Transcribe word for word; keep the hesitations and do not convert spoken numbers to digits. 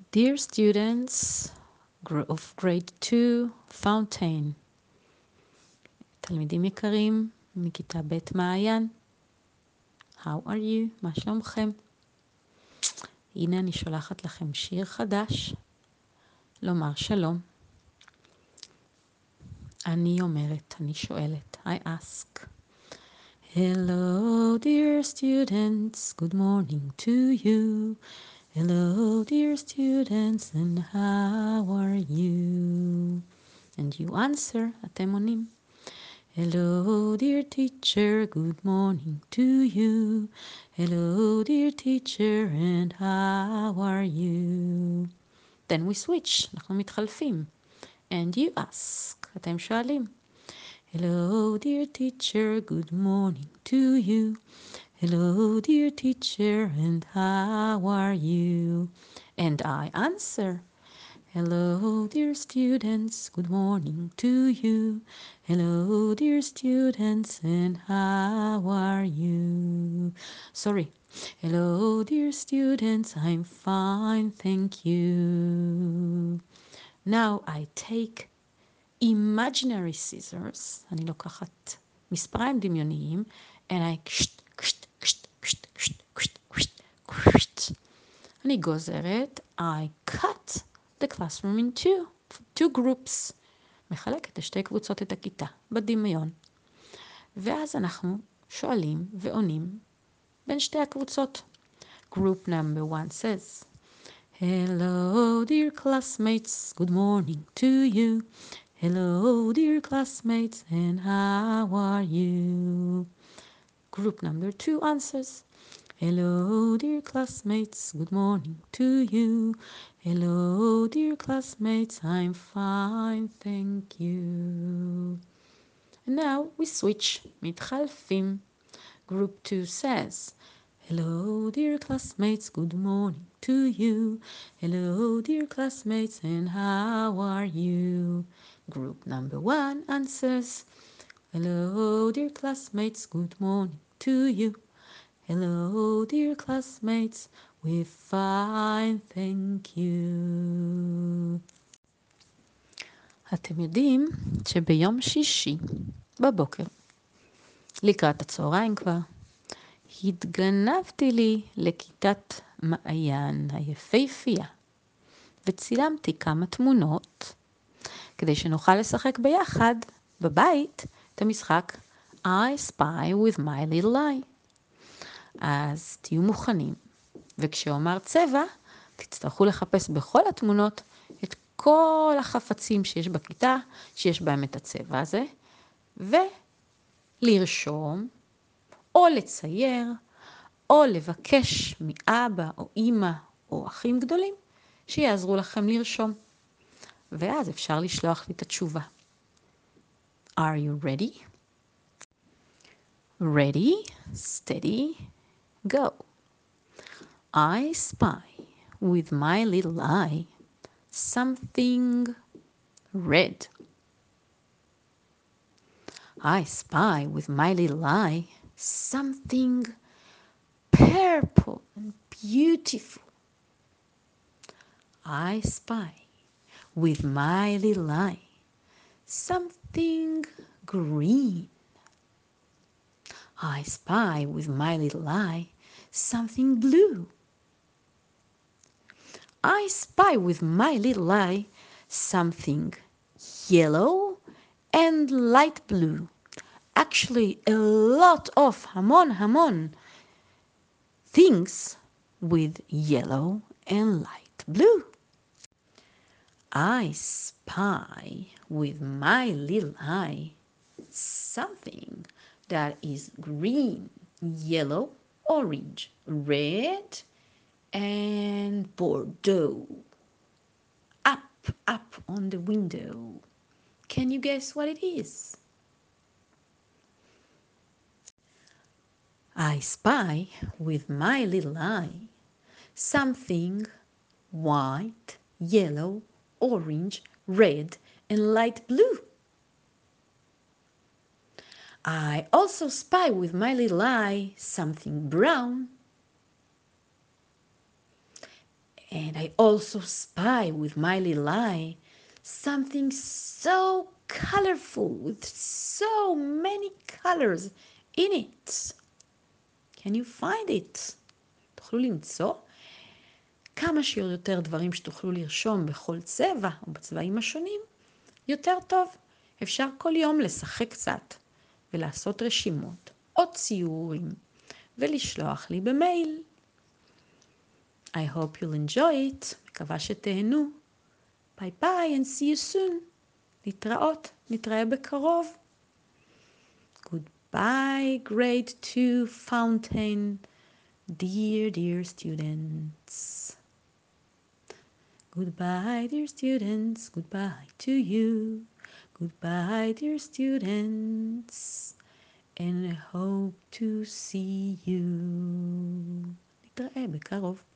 Dear students of grade two, Fountain, תלמידים יקרים מכיתה ב' מעיין, How are you? מה שלומכם? הנה אני שולחת לכם שיר חדש, לומר שלום. אני אומרת, אני שואלת, I ask. Hello dear students, good morning to you. Hello dear students, and how are you? And you answer, אתם עונים. Hello dear teacher, good morning to you. Hello dear teacher, and how are you? Then we switch, אנחנו מתחלפים. And you ask, אתם שואלים. Hello dear teacher, good morning to you. Hello dear teacher, and how are you? And I answer. Hello dear students, good morning to you. Hello dear students, and how are you? Sorry. Hello dear students, I'm fine, thank you. Now I take imaginary scissors, אני לוקחת מספריים דמיוניים, and I קשט, קשט, קשט, קשט, קשט, קשט, קשט, קשט. אני גוזרת, I cut the classroom in two, two groups. מחלקת לשתי קבוצות את הכיתה, בדמיון. ואז אנחנו שואלים ועונים בין שתי הקבוצות. Group number one says, Hello dear classmates, good morning to you. Hello dear classmates, and how are you? Group number two answers, Hello dear classmates, good morning to you. Hello dear classmates, I'm fine, thank you. And now we switch, מתחלפים. Group two says, Hello dear classmates, good morning to you. Hello dear classmates, and how are you? Group number one answers, Hello dear classmates, good morning to you. Hello dear classmates, we're fine, thank you. אתם יודעים שביום שישי בבוקר, לקראת הצהריים כבר, התגנבתי לי לכיתת מעיין היפהפייה, וצילמתי כמה תמונות, כדי שנוכל לשחק ביחד בבית את המשחק I spy with my little eye. אז תהיו מוכנים, וכשאומר צבע, תצטרכו לחפש בכל התמונות את כל החפצים שיש בכיתה, שיש בהם את הצבע הזה, ולרשום, או לצייר, או לבקש מאבא או אמא או אחים גדולים, שיעזרו לכם לרשום. ואז אפשר לשלוח לי את התשובה. Are you ready? Ready, steady, go. I spy with my little eye something red. I spy with my little eye something purple and beautiful. I spy with my little eye something green. I spy with my little eye something blue. I spy with my little eye something yellow and light blue. Actually, a lot of hamon hamon things with yellow and light blue. I spy with my little eye something that is green, yellow, orange, red, and Bordeaux. Up, up on the window. Can you guess what it is? I spy with my little eye something white, yellow, orange, red, and light blue. I also spy with my little eye something brown. And I also spy with my little eye something so colorful with so many colors in it. Can you find it? תוכלו למצוא כמה שיותר דברים שתוכלו לרשום בכל צבע או בצבעים השונים, יותר טוב. אפשר כל יום לשחק קצת ולעשות רשימות או ציורים ולשלוח לי במייל. I hope you'll enjoy it. מקווה שתהנו. ביי ביי and see you soon. נתראות, נתראה בקרוב. Goodbye, grade two fountain. Dear, dear students. Goodbye, dear students. Goodbye to you. Goodbye, dear students. And I hope to see you. נתראה בקרוב.